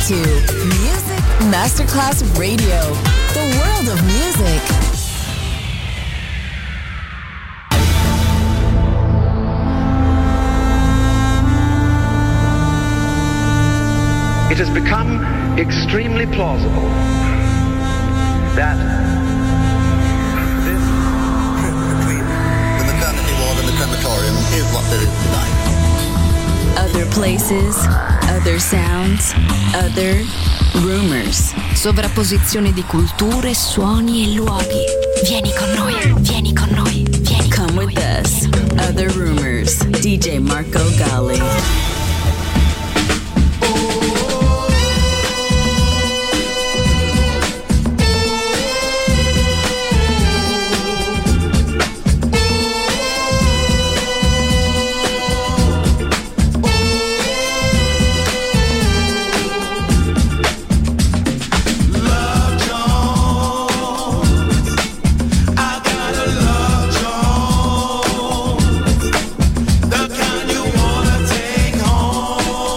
to Music Masterclass Radio, the world of music. It has become extremely plausible that this trip between the maternity ward and the crematorium is what there is tonight. Other places, other sounds, other rumors. Sovrapposizione di culture, suoni e luoghi. Vieni con noi, vieni con noi, vieni con Come noi. with us. Other rumors. DJ Marco Gally. The kind you wanna take home.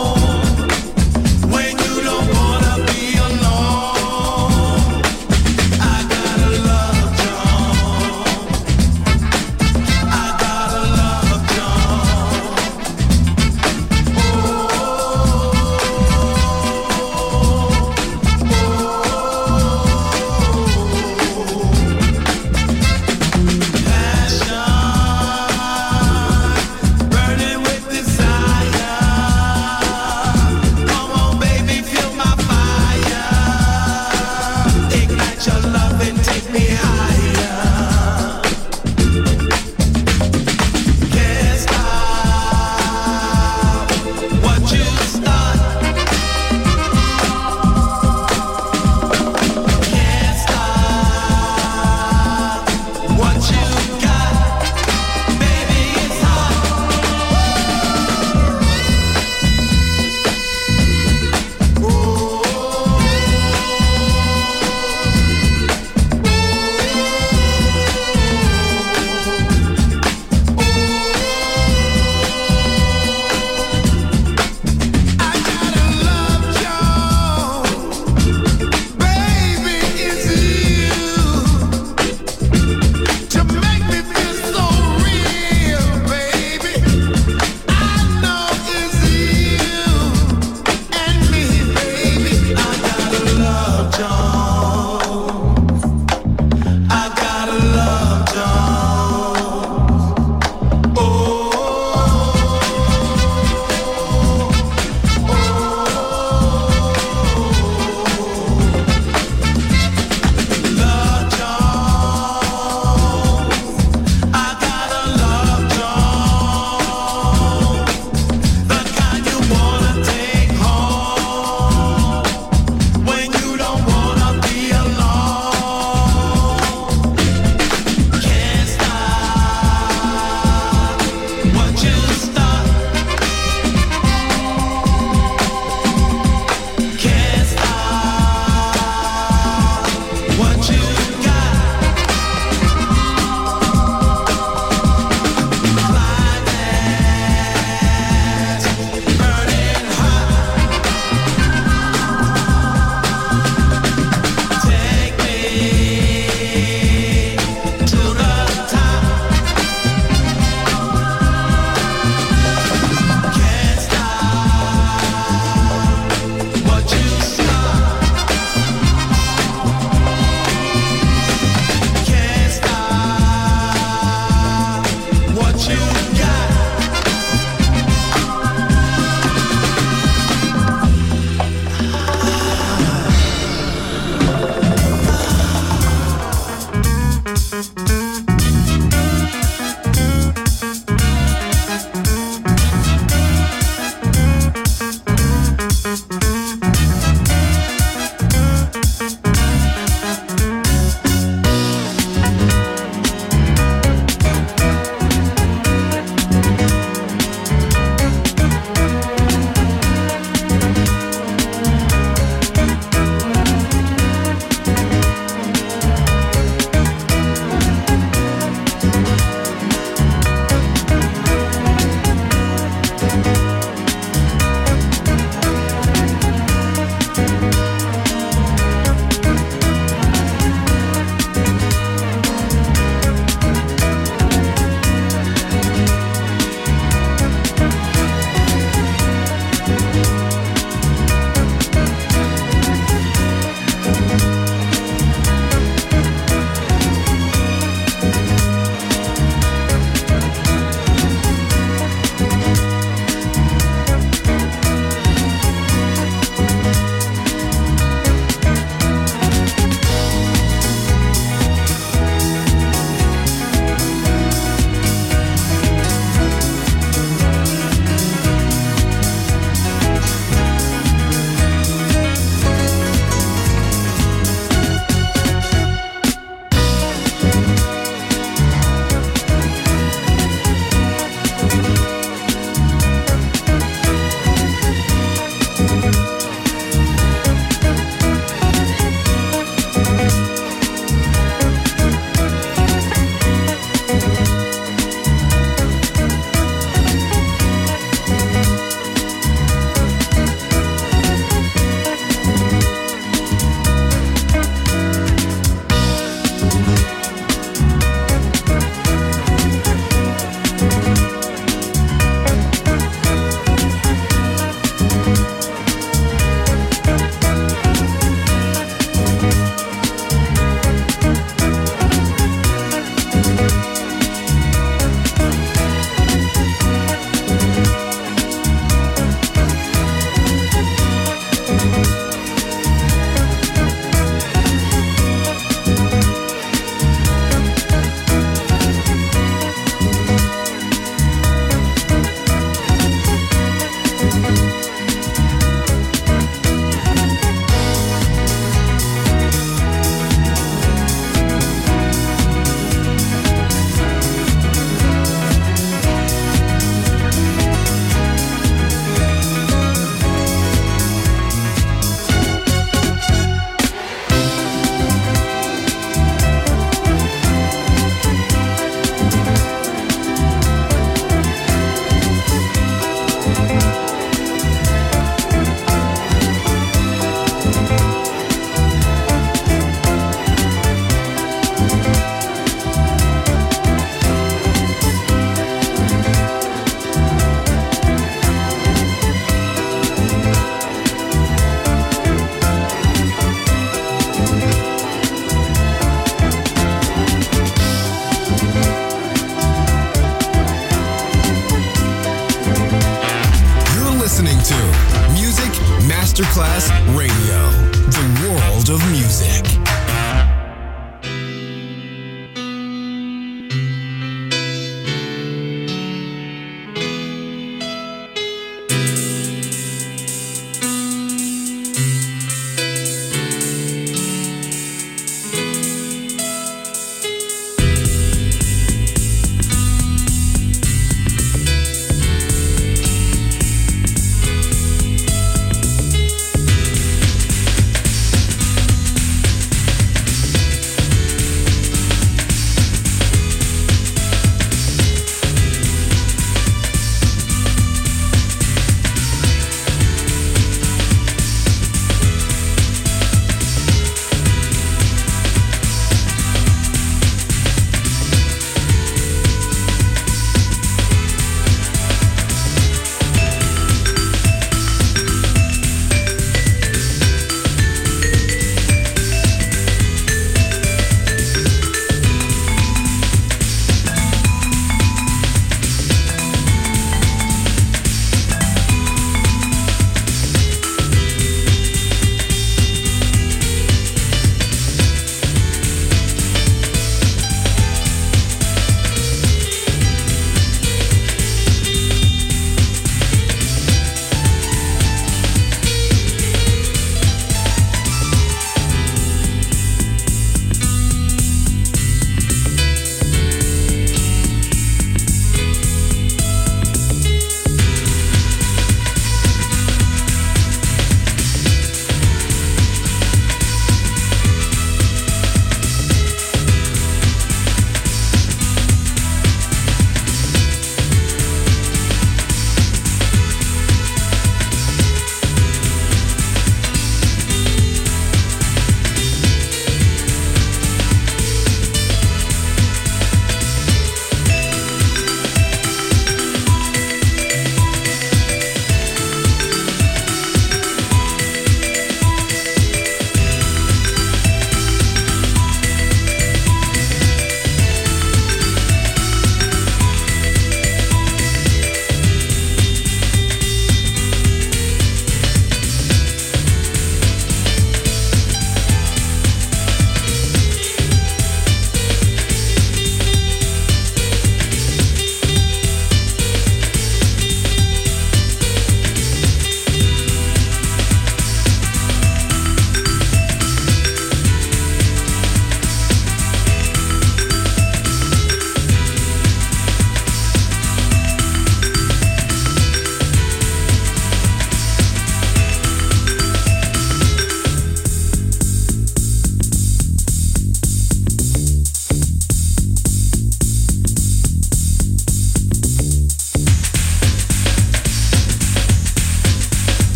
Masterclass Radio, the world of music.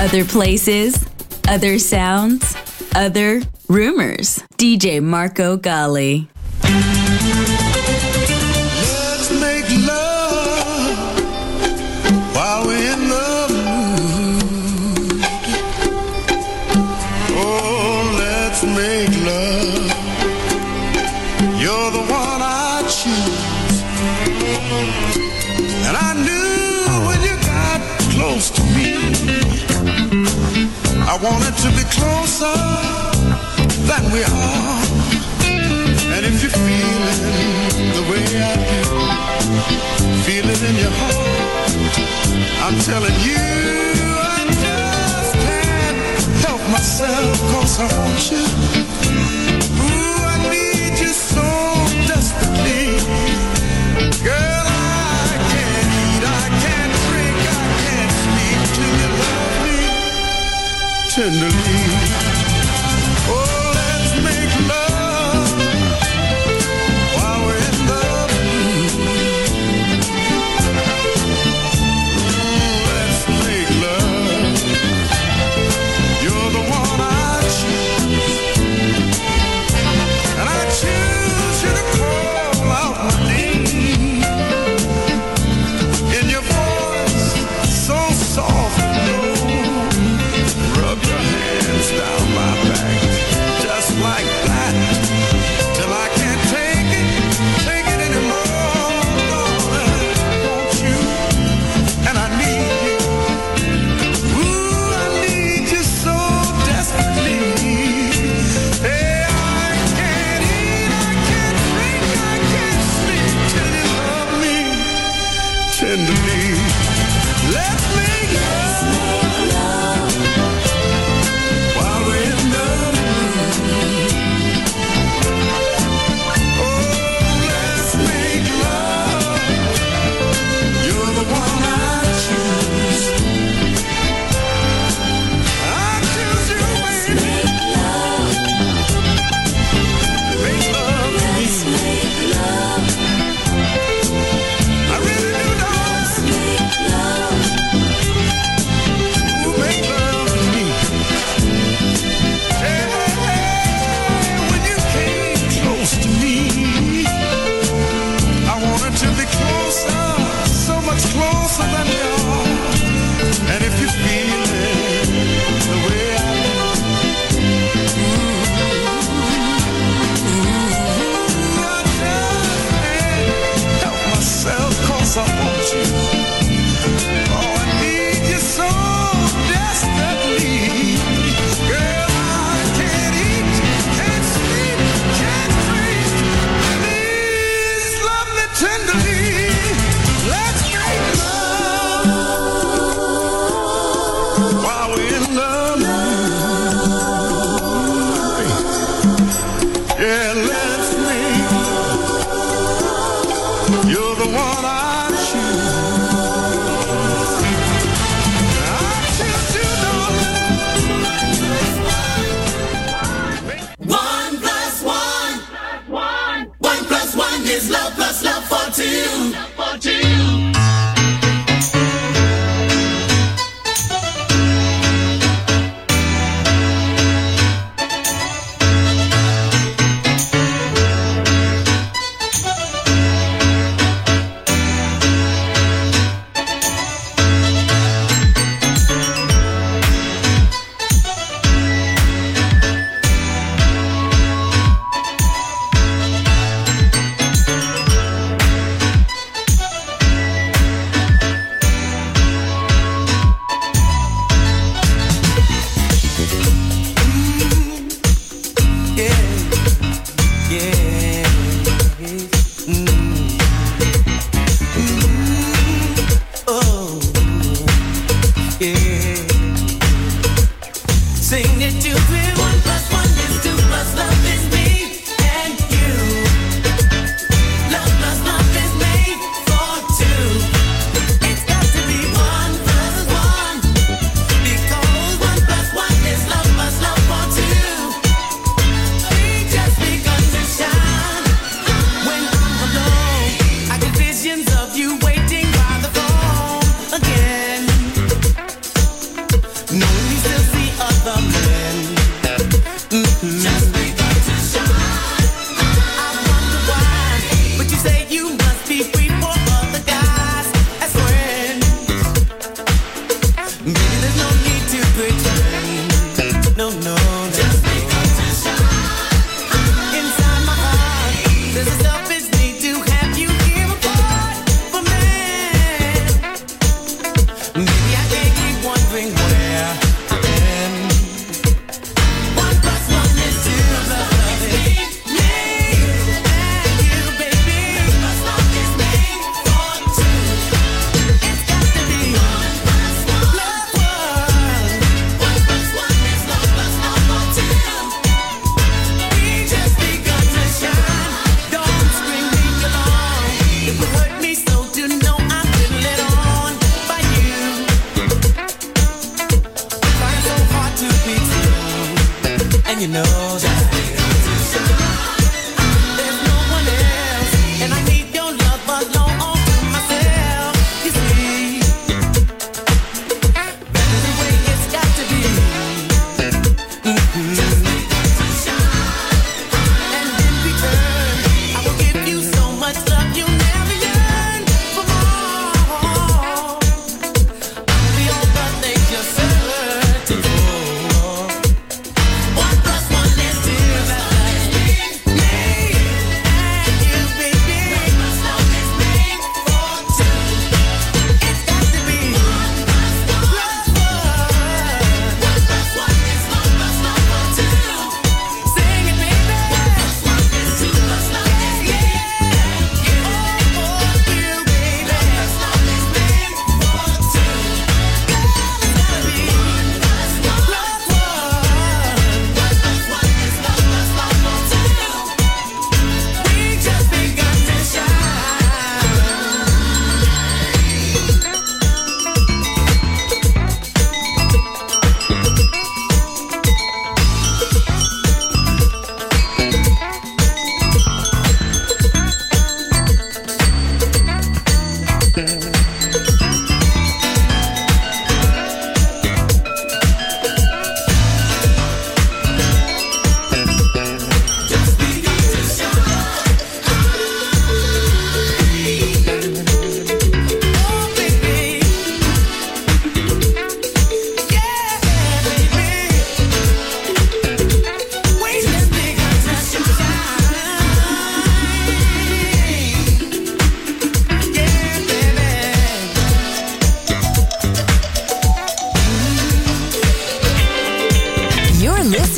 Other places, other sounds, other rumors. DJ Marco Gally. Let's make love while we're in the mood. Oh, let's make love. You're the one I choose. And I knew when you got close to me, I wanted to be closer than we are. And if you're feeling the way I do, feel it in your heart, I'm telling you, I just can't help myself, 'cause I want you. Ooh, I need you so desperately. Girl, I can't eat, I can't drink, I can't sleep till you love me tenderly. Oh, let's make love while we're in the mood. Let's make love. You're the one I choose, and I choose you to call out my name. In your voice, so soft and low, rub your hands down my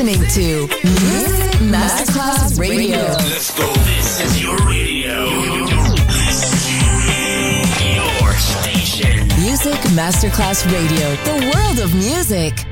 listening to Music Masterclass Radio. Let's go. This is your radio. Your station. Music Masterclass Radio. The world of music.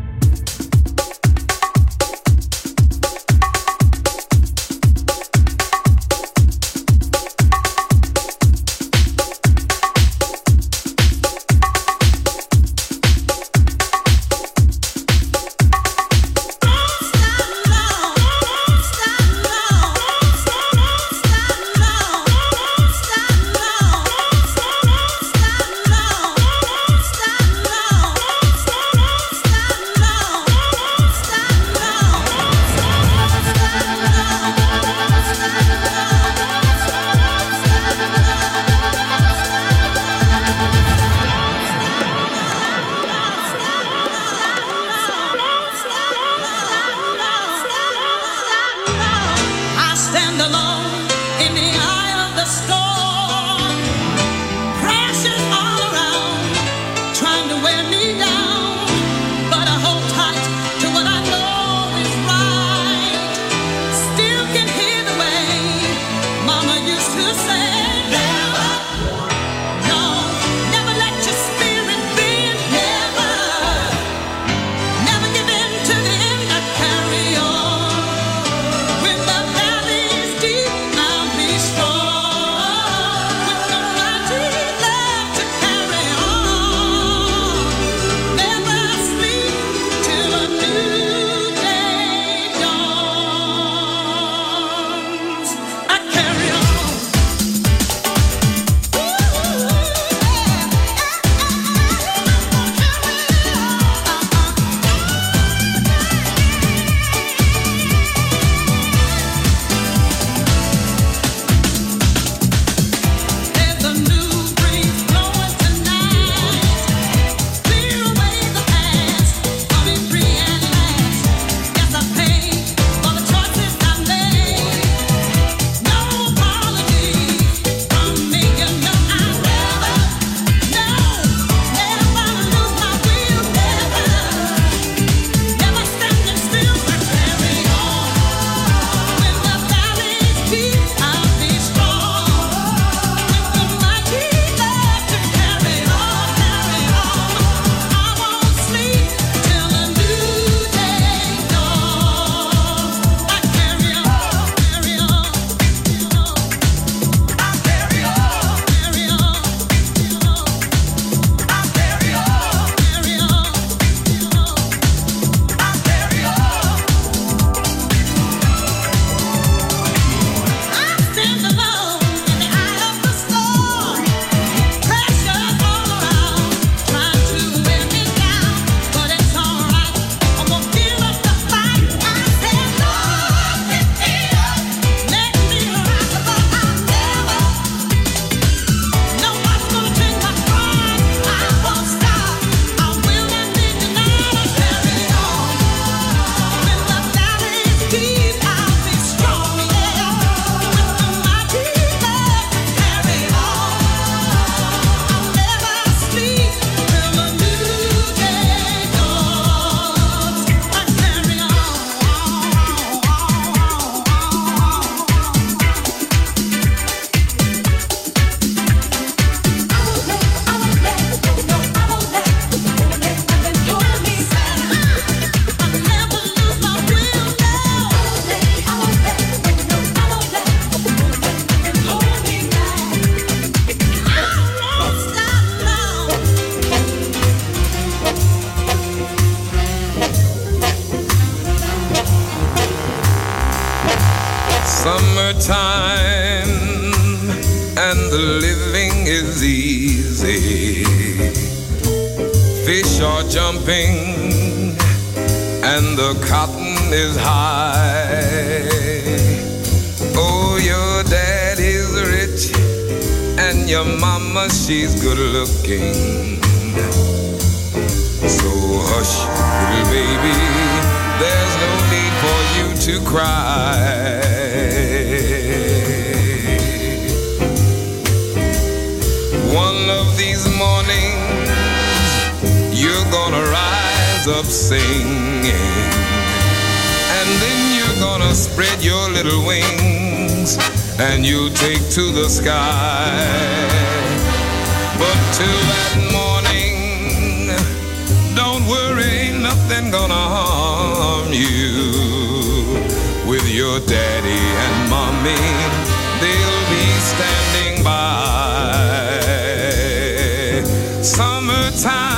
Summertime and the living is easy. Fish are jumping and the cotton is high. Oh, your dad is rich and your mama, she's good looking. So hush, little baby, there's no need for you to cry. One of these mornings you're gonna rise up singing. then you're gonna spread your little wings and you take to the sky. But till that morning, don't worry, nothing gonna harm you. With your daddy and mommy, they'll be standing by. Summertime.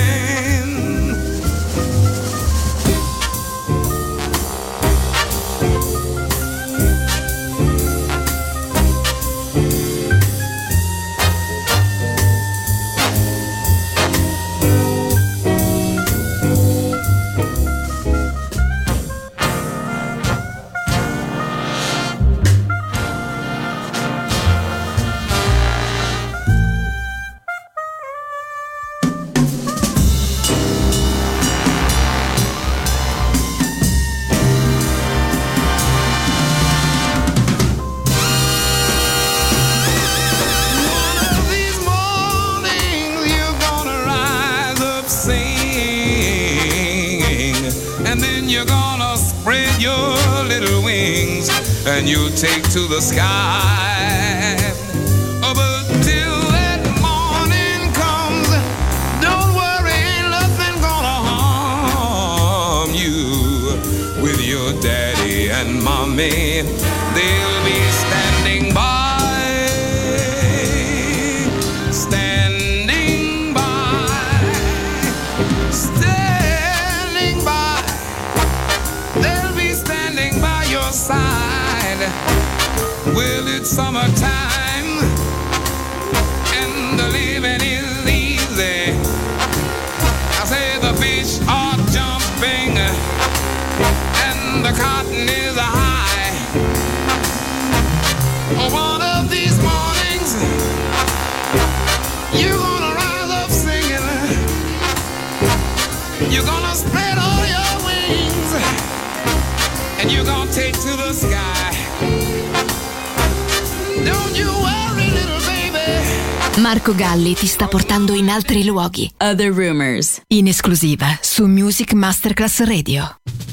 And you take to the sky. Oh, but till that morning comes, don't worry, nothing gonna harm you. With your daddy and mommy, they'll be standing by. Standing by. Standing by. They'll be standing by your side. Well, it's summertime and the living is easy. I say the fish are jumping and the cotton is high. One of these mornings you're gonna rise up singing. You're gonna spread all your wings and you're gonna take to the sky. Marco Galli ti sta portando in altri luoghi. Other Rumors. In esclusiva su Music Masterclass Radio.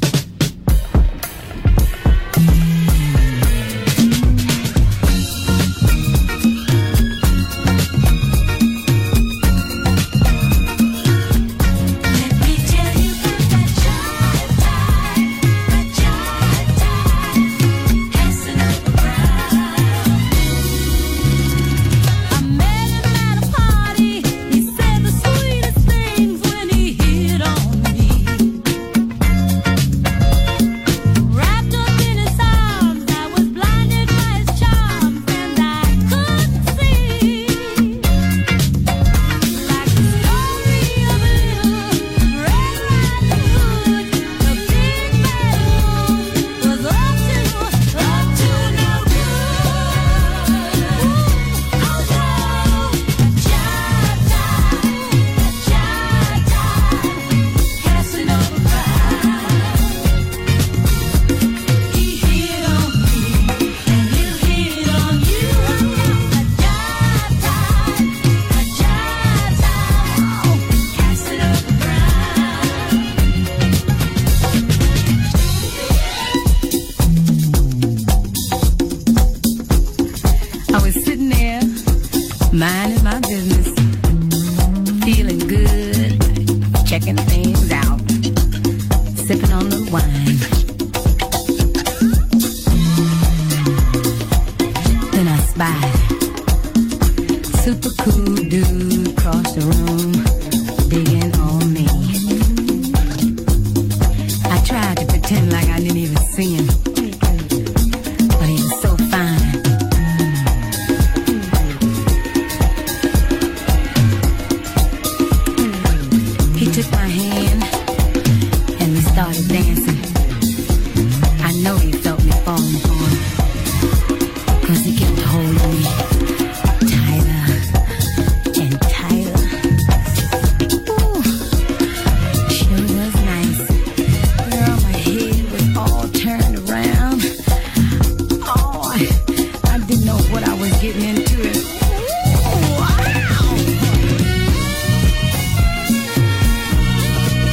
minding my business, feeling good, checking things out, sipping on the wine. Then I spy super cool dude across the room, digging on me. I tried to pretend like I didn't even see him, but he was so fine. He took my hand and we started dancing. I know he felt me falling for him, 'cause he kept holding me tighter and tighter. Ooh, sure was nice. Girl, my head was all turned around. Oh, I didn't know what I was getting into. Ooh, wow.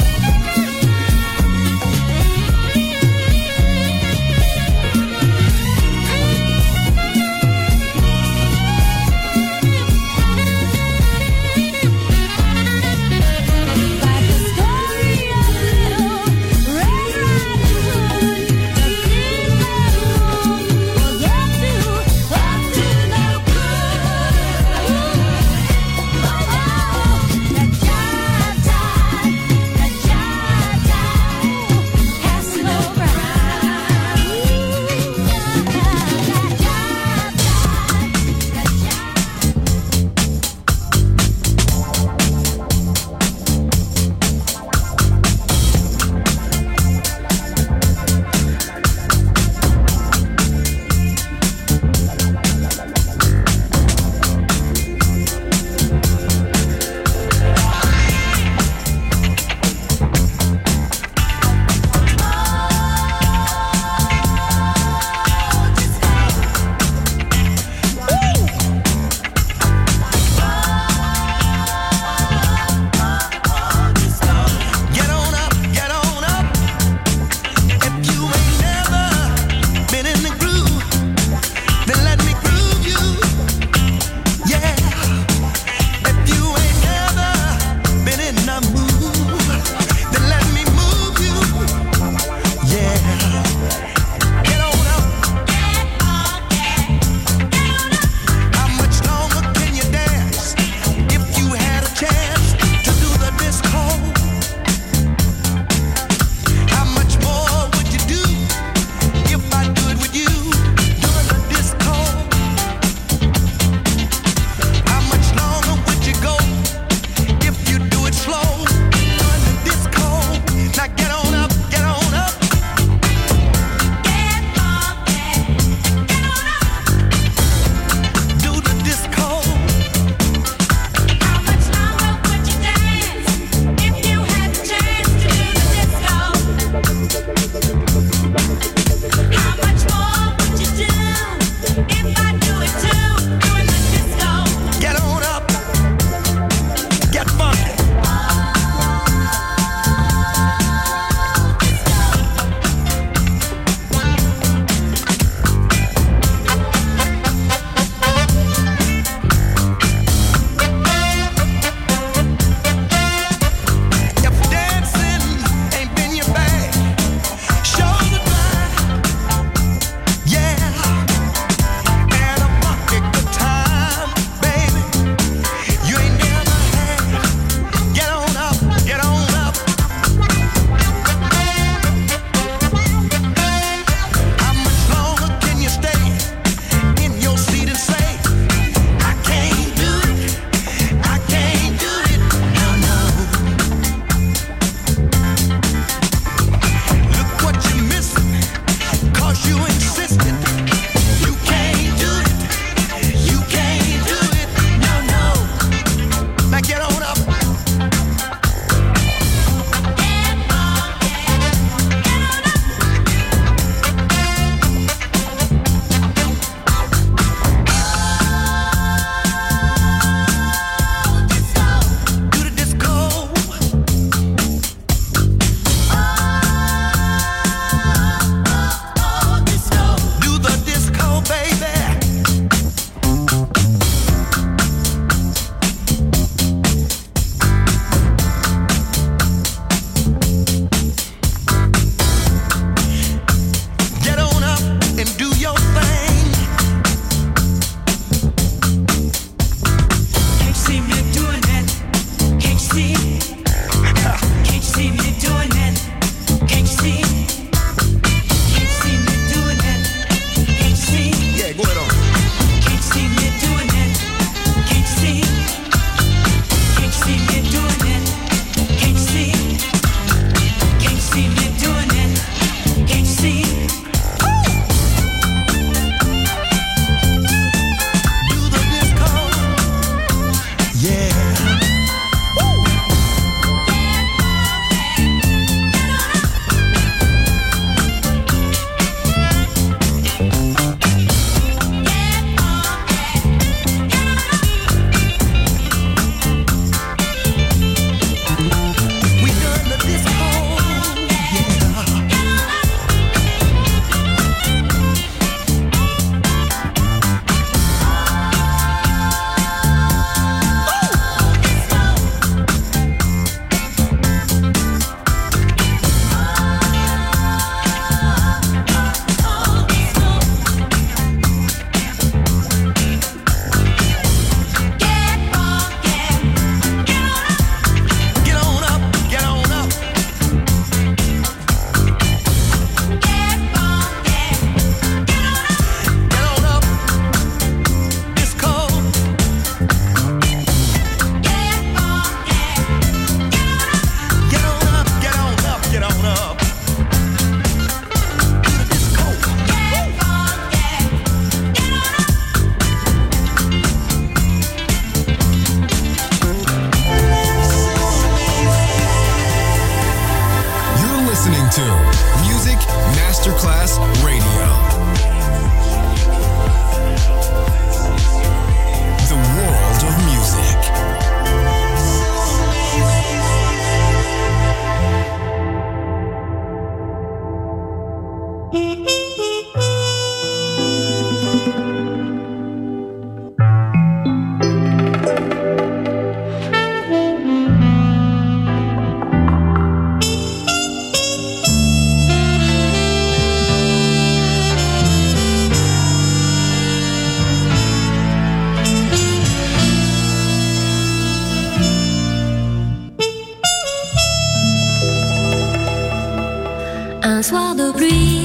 Un soir de pluie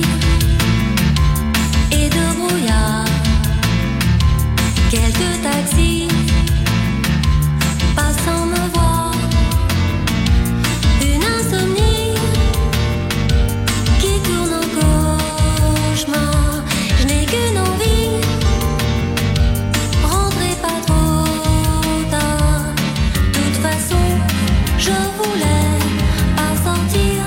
et de brouillard, quelques taxis passant me voir, une insomnie qui tourne en cauchemar. Je n'ai qu'une envie, rentrez pas trop tard. De toute façon, je voulais pas sortir.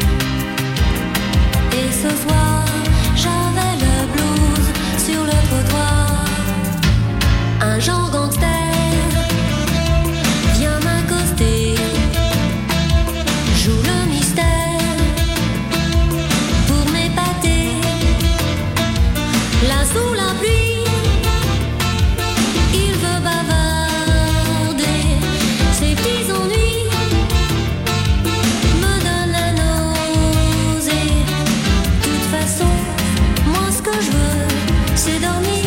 Et ce soir, j'avais le blues sur le trottoir. Un genre gangster vient m'accoster, joue le mystère pour m'épater. Là sous la pluie, il veut bavarder. Ses petits ennuis me donnent la nausée. De toute façon, moi ce que je veux, c'est dormir.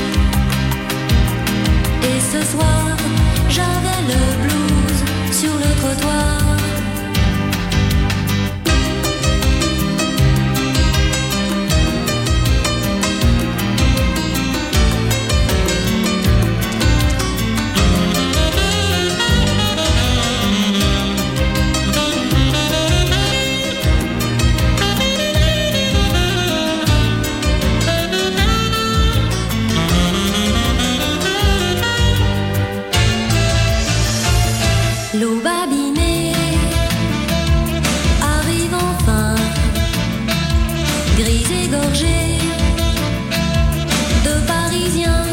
Et ce soir, j'avais le blues sur le trottoir. L'aube abîmée arrive enfin, grise et gorgée de Parisiens.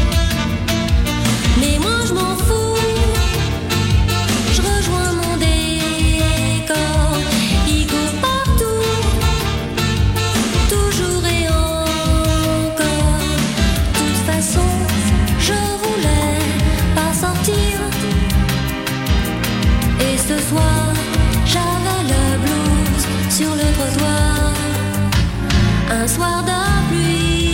Mais moi je m'en fous, je rejoins mon décor. Il court partout, toujours et encore. De toute façon, je voulais pas sortir. Et ce soir, j'avais le blues sur le trottoir. Un soir de pluie.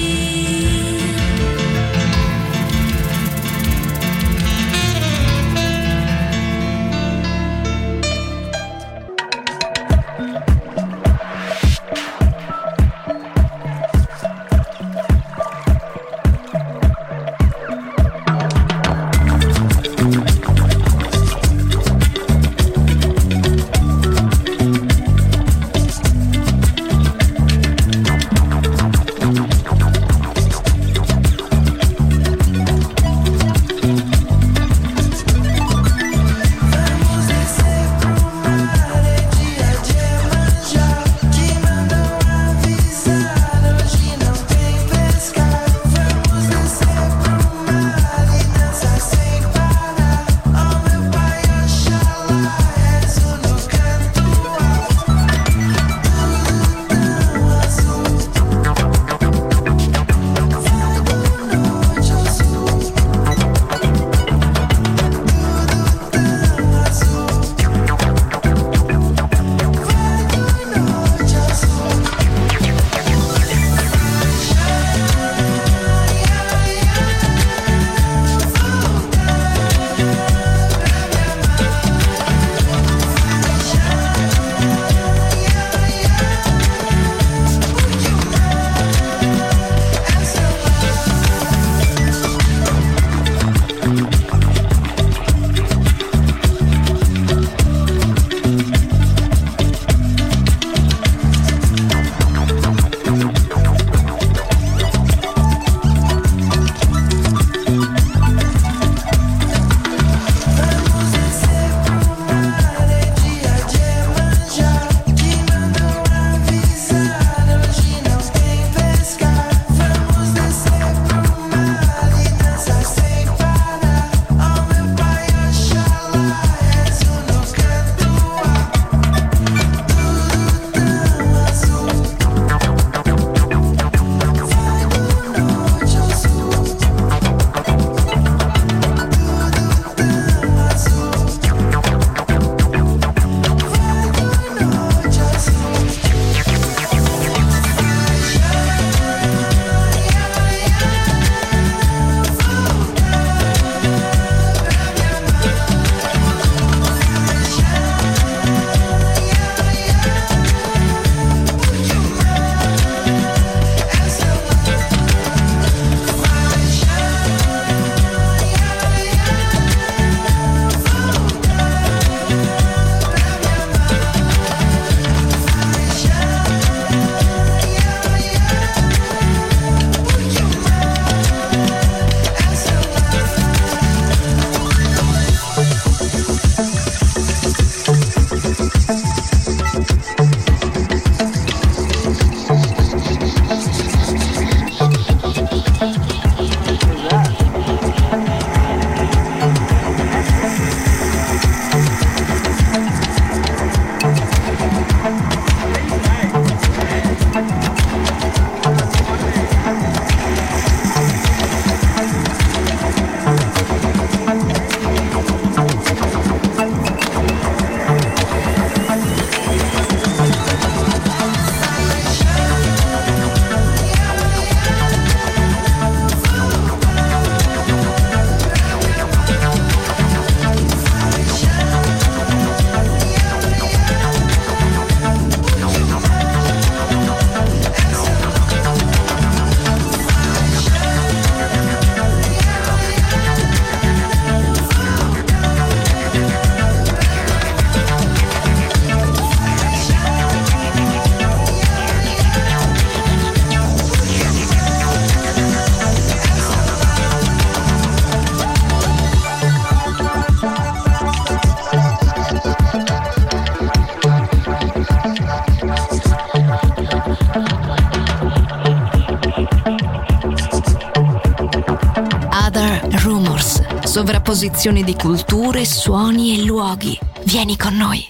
sovrapposizione di culture, suoni e luoghi. Vieni con noi.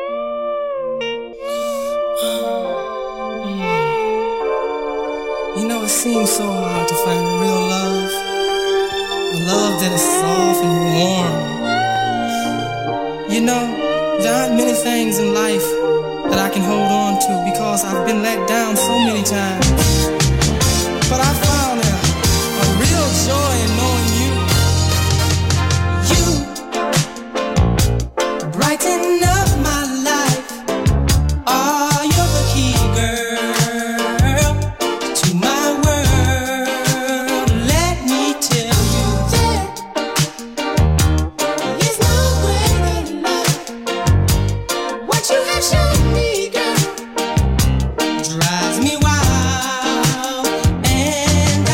You know, it seems so hard to find real love, a love that is soft and warm. You know, there aren't many things in life that I can hold on to because I've been let down so many times. But I found a real joy in knowing you. You brighten up my life. Oh, you're the key, girl, to my world. Let me tell you that there's no greater love. What you have shown me, girl, drives me wild. And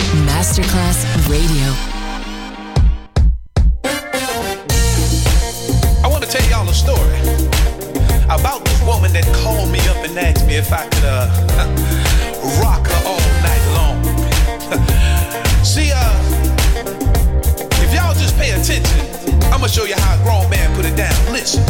Masterclass Radio. I want to tell y'all a story about this woman that called me up and asked me if I could rock her all night long. See, if y'all just pay attention, I'm gonna show you how a grown man put it down. Listen,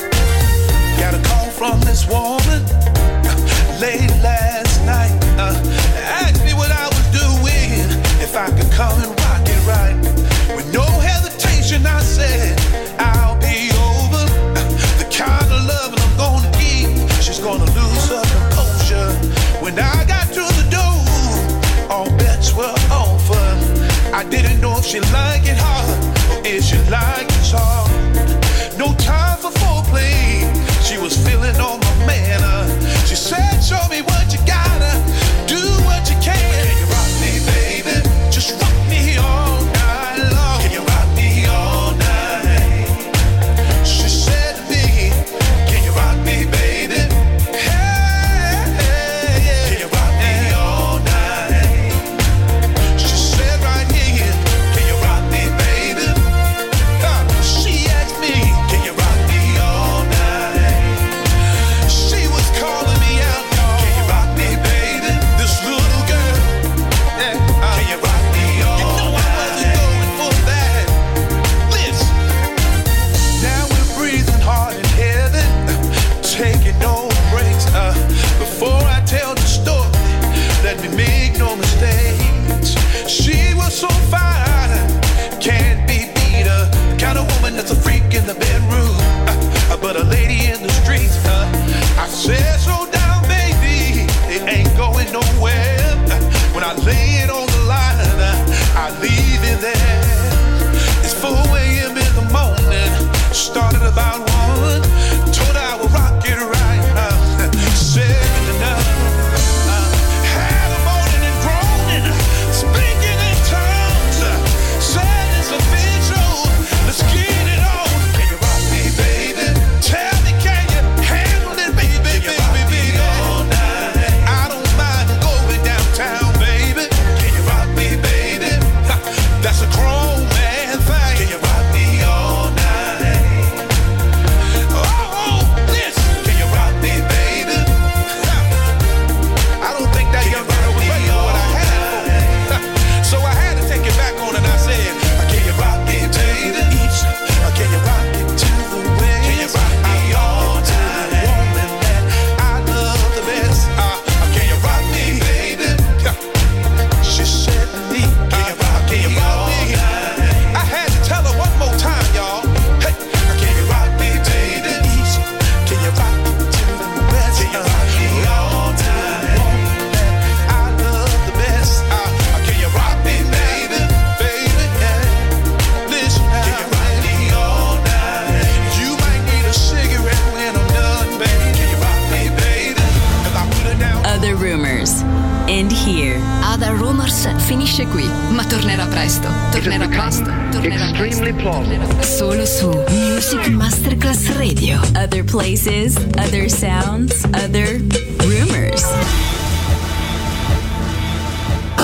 got a call from this woman late last night. Asked me what I was doing, if I could come and rock it right. With no hesitation, I said I'll be over. The kind of love I'm gonna give, she's gonna lose her composure. When I got to the door, all bets were over. I didn't know if she liked it hard or if she liked it soft. No time for foreplay, she was feeling on my manner. She said, show me what you gotta, do what you can. Can you rock me, baby? Just rock me all night long. Can you rock me all night? She said to me, can you rock me, baby? Hey, hey, yeah. Can you rock me all night? She said right here, can you rock me, baby? She asked me, can you rock me all night? She was calling me out, y'all. Can you rock me, baby? This little girl, yeah. Can you rock me all night? You know I wasn't going for that. Listen, now we're breathing hard in heaven, taking no breaks. Before I tell the story, let me make no mistakes. She was so fine, can't be beat. The kind of woman that's a freak in the bedroom, but a lady in the streets. I said, slow down, baby, it ain't going nowhere. When I lay it on the line, I leave it there. It's 4 a.m. in the morning, started about 1. Told her I would rock it right. Second enough. Had her moaning and groaning, speaking in tongues. Said it's official, let's get it on. Can you rock me, baby? Tell me, can you handle it, baby, baby, baby? All night. I don't mind going downtown, baby. Can you rock me, baby? That's a grown man thing. Can you rock me all night? Oh, listen. Can you rock me, baby? I don't think that young girl was ready for what I had for. So I had to take it back on and I said, can you rock me, baby? Can you rock it to the way? Can you rock me all night? The woman that I love the best. Can you rock me, baby? She said to me, can you rock me all night? I had to tell her one more time, y'all. Hey, can you rock me, baby? Can you rock it to the west? Can you rock me all night? I love the best. Can you rock me, baby? Baby, yeah. Listen, can you rock me all night? You might need a cigarette when I'm done, baby. Can you rock me, baby? 'Cause I put it down. Other Rumors. And here. Other Rumors finisce qui, ma tornerà presto. Tornerà presto. Tornerà presto. Solo su Music Masterclass Radio. Other places, other sounds, other rumors.